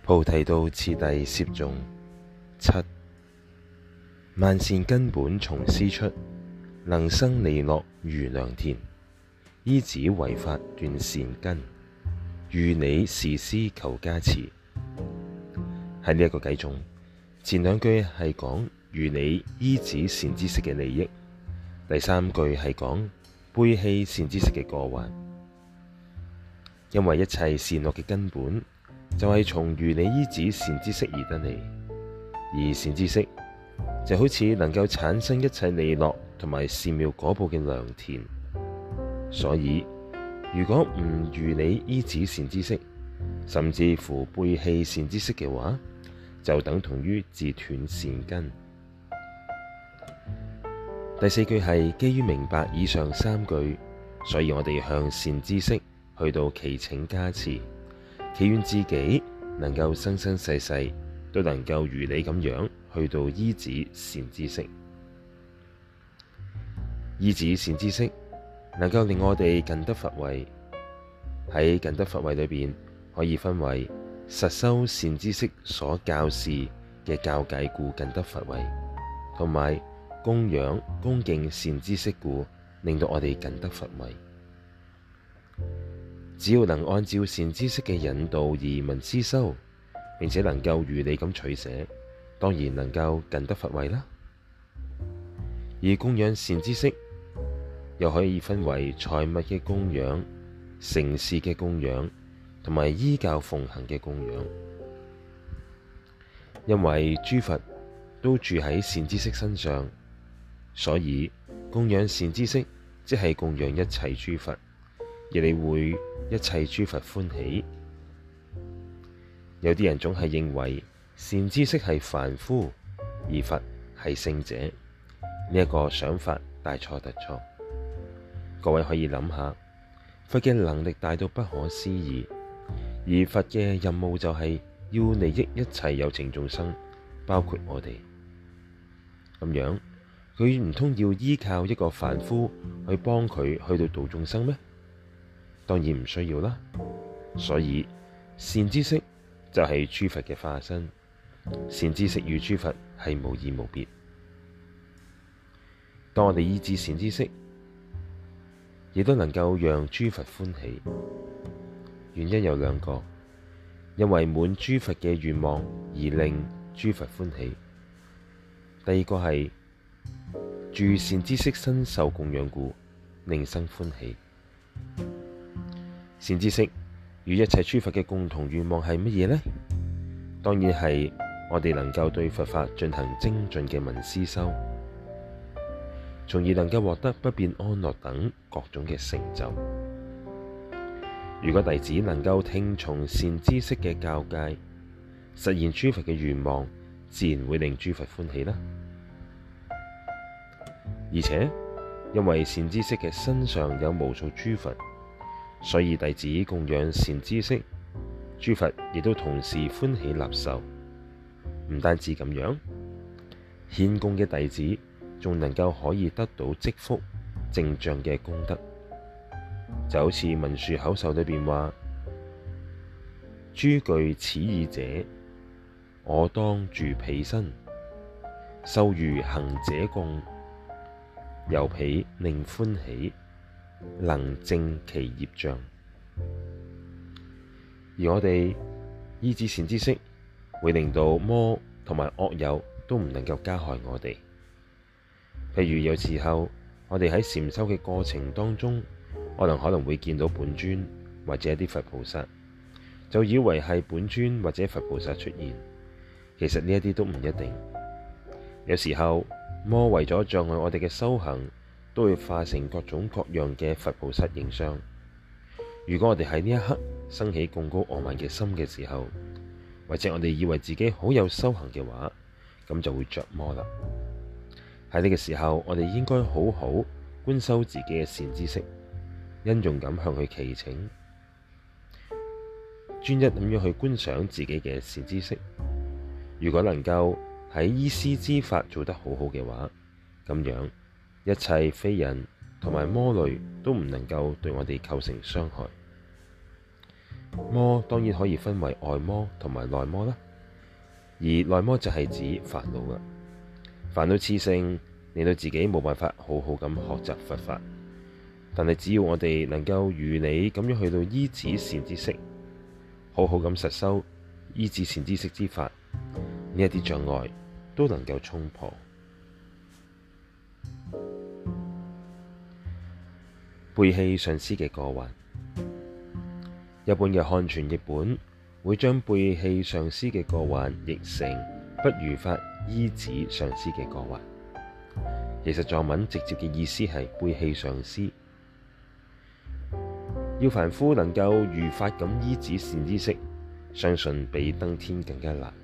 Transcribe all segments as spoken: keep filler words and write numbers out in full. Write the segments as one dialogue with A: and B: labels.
A: 菩提道次第攝頌七，萬善根本從師出，能生利樂如良田。依止為法斷善根，如理事師求加持。喺呢一個偈中，前兩句係講如理依止善知識嘅利益，第三句係講背棄善知識嘅過患。因為一切善惡嘅根本就係從如理依止善知識而得嚟，而善知識就好似能夠產生一切利樂同埋善妙果報嘅良田。所以如果唔如理依止善知識，甚至乎背棄善知識嘅話，就等同於自斷善根。第四句係基於明白以上三句，所以我哋向善知識去到祈請加持，祈願自己能夠生生世世都能夠如理咁樣去到依止善知識。依止善知識能夠令我哋近得佛位。喺近得佛位裏邊，可以分為實修善知識所教示嘅教誡故近得佛位，同埋供養恭敬善知識故令到我哋近得佛位。只要能按照善知識嘅引導而聞思修，並且能夠如理咁取捨，當然能夠近得佛位啦。而供養善知識又可以分為財物嘅供養、承事嘅供養同埋依教奉行嘅供養。因為諸佛都住喺善知識身上，所以供養善知識即係供養一切諸佛，亦你會一切諸佛歡喜。有啲人總係認為善知識係凡夫，而佛係聖者，呢、這、一個想法大錯特錯。各位可以諗下，佛嘅能力大到不可思議，而佛嘅任務就係要利益一切有情眾生，包括我哋。咁樣佢唔通要依靠一個凡夫去幫佢去到度眾生咩？當然唔需要啦。所以善知識就係諸佛嘅化身，善知識與諸佛係無異無別。當我哋依止善知識，亦都能夠讓諸佛歡喜。原因有兩個，因為滿諸佛嘅願望而令諸佛歡喜。第二個係住善知識身受供養故，令生歡喜。善知識與一切諸佛嘅共同願望係乜嘢呢？當然係我哋能夠對佛法進行精進嘅聞思修，從而能夠獲得不變安樂等各種嘅成就。如果弟子能夠聽從善知識嘅教誡，實現諸佛嘅願望，自然會令諸佛歡喜啦。而且因為善知識嘅身上有無數諸佛，所以弟子供養善知識，諸佛亦都同時歡喜納受。唔單止咁樣，獻供嘅弟子仲能夠可以得到積福淨障嘅功德。就好似文殊口授裏邊話：諸具此意者，我當住彼身，受如行者供，由彼令歡喜，能淨其業障。而我哋依止善知識，會令到魔同埋惡友都唔能夠加害我哋。譬如有時候我哋喺禪修嘅過程當中，可能可能會見到本尊或者一啲佛菩薩，就以為係本尊或者佛菩薩出現。其實呢一啲都唔一定。有時候魔為咗障礙我哋嘅修行，都會化成各種各樣嘅佛菩薩形象。如果我哋喺呢一刻生起貢高傲慢嘅心嘅時候，或者我哋以為自己好有修行嘅話，咁就會着魔啦。喺呢個時候，我哋應該好好觀修自己嘅善知識，殷重咁向佢祈請，專一咁樣去觀賞自己嘅善知識。如果能夠喺依師之法做得好好嘅話，咁樣一切非人同埋魔類都唔能夠對我哋構成傷害。 魔當然可以分為外魔同埋內魔啦，而內魔就係指煩惱啦。煩惱熾盛，令到自己冇辦法好好咁學習佛法。但係只要我哋能夠如理咁樣去到依止善知識，好好咁實修依止善知識之法，呢一啲障礙都能夠衝破。背棄上師嘅過患，一般嘅漢傳譯本會將背棄上師嘅過患譯成不如法依止上師嘅過患。其實藏文直接嘅意思係背棄上師。要凡夫能夠如法咁依止善知識，相信比登天更加難。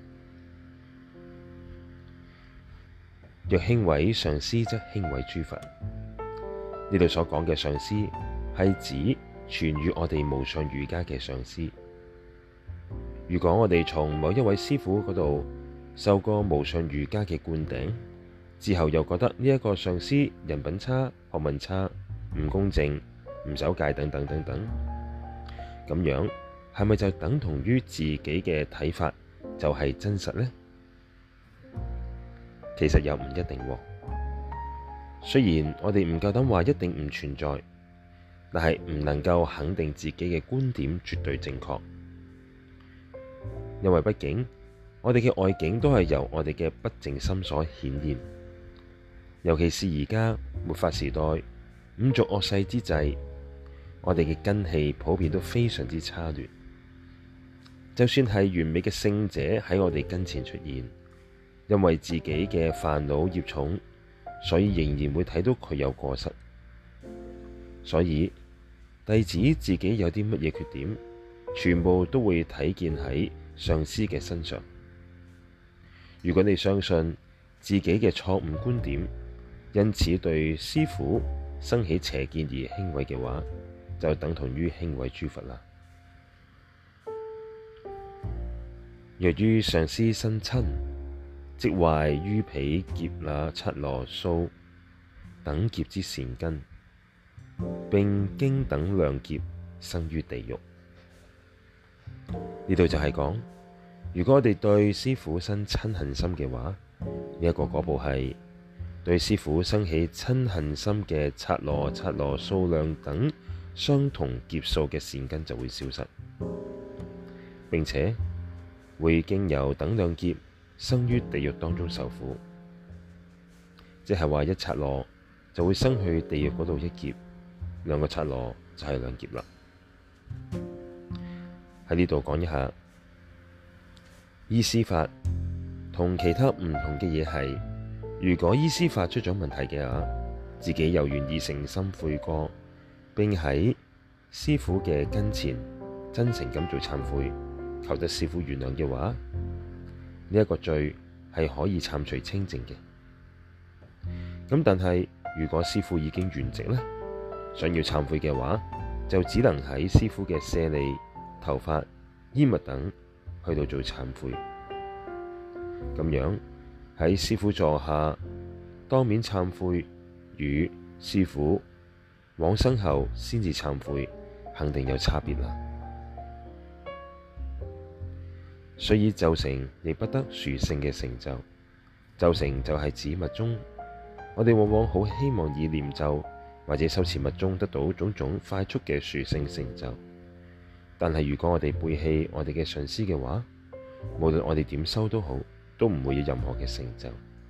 A: 若輕毀上師，則輕毀諸佛。呢度所講嘅上師係指傳予我哋無上瑜伽嘅上師。如果我哋從某一位師父嗰度受過無上瑜伽嘅灌頂之後，又覺得呢一個上師人品差、學問差、唔公正、唔守戒等等等等，咁樣係咪就等同於自己嘅睇法就係真實呢？其實又唔一定喎。雖然我哋唔夠膽話一定唔存在，但係唔能夠肯定自己嘅觀點絕對正確，因為畢竟我哋嘅外境都係由我哋嘅不淨心所顯現。尤其是而家末法時代，五濁惡世之際，我哋嘅根器普遍都非常之差劣。就算係完美嘅聖者喺我哋跟前出現，因為自己嘅煩惱業重，所以仍然會睇到佢有過失。所以弟子自己有啲乜嘢缺點，全部都會睇見喺上師嘅身上。如果你相信自己嘅錯誤觀點，因此對師父生起邪見而輕毀嘅話，就等同於輕毀諸佛啦。若於上師生瞋，即壞於彼劫那剎那蘇等劫之善根，並經等量劫生於地獄。呢度就係講，如果我哋對師父生瞋恨心嘅話，呢、這、一個果報係對師父生起瞋恨心嘅剎那剎那數量等相同劫數嘅善根就會消失，並且會經由等量劫生於地獄當中受苦。即係話一剎那就會生去地獄嗰度一劫，兩個剎那就係兩劫啦。喺呢度講一下，依師法同其他唔同嘅嘢係，如果依師法出咗問題嘅話，自己又願意誠心悔過，並喺師父嘅跟前真誠咁做懺悔，求得師父原諒嘅話，呢一個罪係可以懺除清淨嘅。咁但係如果師父已經圓寂呢，想要懺悔嘅話，就只能喺師父嘅舍利、頭髮、衣物等去到做懺悔。咁樣喺師父座下當面懺悔，與師父往生後先至懺悔，肯定有差別啦。所以晝成亦不得殊勝嘅成就。晝成就係指密宗，我哋往往好希望以念咒或者修持密宗得到種種快速嘅殊勝成就。但係如果我哋背棄我哋嘅上師嘅話，無論我哋點修都好，都唔會有任何嘅成就。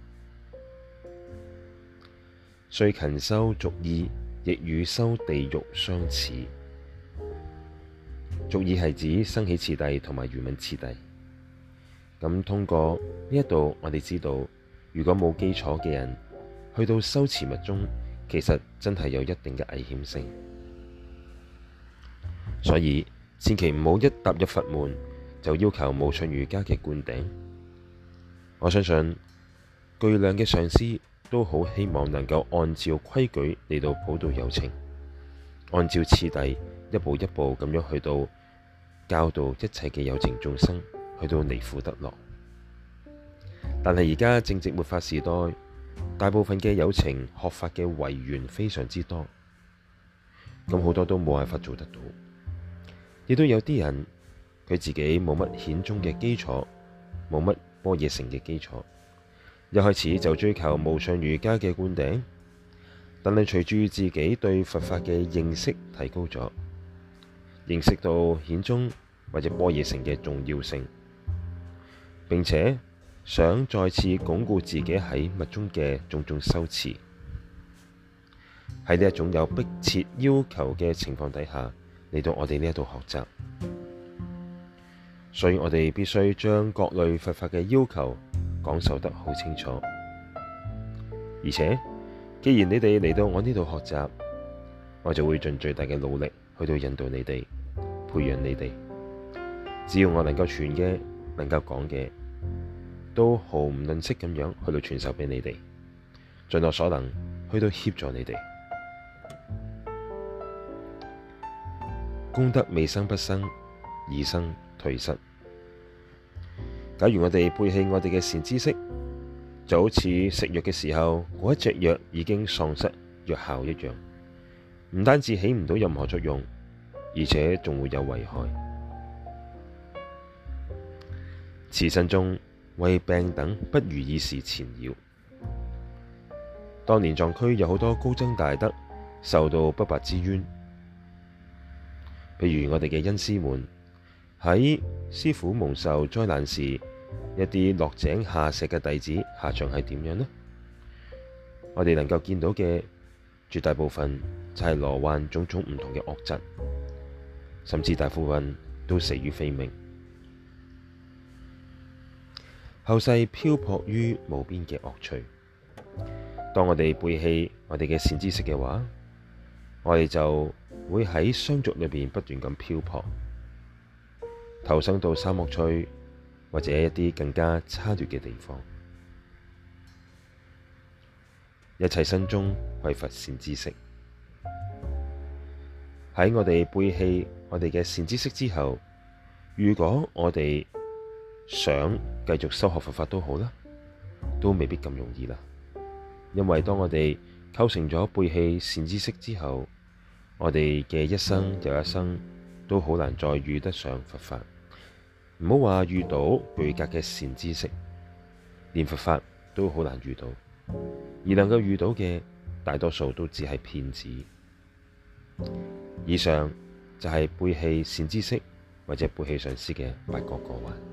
A: 雖勤修俗意，亦與修地獄相似。俗意係指生起次第同埋圓滿次第。咁通過呢一度，我哋知道，如果冇基礎嘅人去到修持密宗，其實真係有一定嘅危險性。所以千祈唔好一踏入佛門就要求無上瑜伽嘅灌頂。我相信巨量嘅上師都好希望能夠按照規矩嚟到普渡有情，按照次第一步一步咁樣去到教導一切嘅有情眾生，去到離苦得樂。但係而家正值末法時代，大部分嘅有情學法嘅違緣非常之多，咁好多都冇辦法做得到。 亦都有啲人佢自己冇乜顯宗嘅基礎，冇乜般若乘嘅基礎，一開始就追求無上瑜伽嘅灌頂，但係隨住自己對佛法嘅認識提高咗，認識到顯宗或者般若乘嘅重要性，並且想再次鞏固自己喺密宗嘅種種修持。喺呢一種有迫切要求嘅情況底下嚟到我哋呢一度學習，所以我哋必須將各類佛法嘅要求講授得好清楚。而且既然你哋嚟到我呢度學習，我就會盡最大嘅努力去到引導你哋，培養你哋。只要我能夠傳嘅，能夠講嘅，都毫唔吝嗇咁樣去到傳授俾你哋，盡我所能去到協助你哋。功德未生不生，已生退失。假如我哋背棄我哋嘅善知識，就好似食藥嘅時候，嗰一隻藥已經喪失藥效一樣，唔單止起唔到任何作用，而且仲會有危害。此生中為病等不如意事纏繞。當年藏區有好多高僧大德受到不白之冤，譬如我哋嘅恩師們喺師父蒙受災難時，一啲落井下石嘅弟子下場係點樣呢？我哋能夠見到嘅絕大部分就係罹患種種唔同嘅惡疾，甚至大部分都死於非命，後世漂泊於無邊嘅惡趣。當我哋背棄我哋嘅善知識嘅話，我哋就會喺相續裏邊不斷咁漂泊，投生到三惡趣或者一啲更加差劣嘅地方。一切身中匱乏善知識。喺我哋背棄我哋嘅善知識之後，如果我哋想繼續修學佛法都好啦，都未必咁容易啦。因為當我哋構成咗背棄善知識之後，我哋嘅一生又一生都好難再遇得上佛法。唔好話遇到具格嘅善知識，連佛法都好難遇到，而能夠遇到嘅大多數都只係騙子。以上就係背棄善知識或者背棄上師嘅八個過患。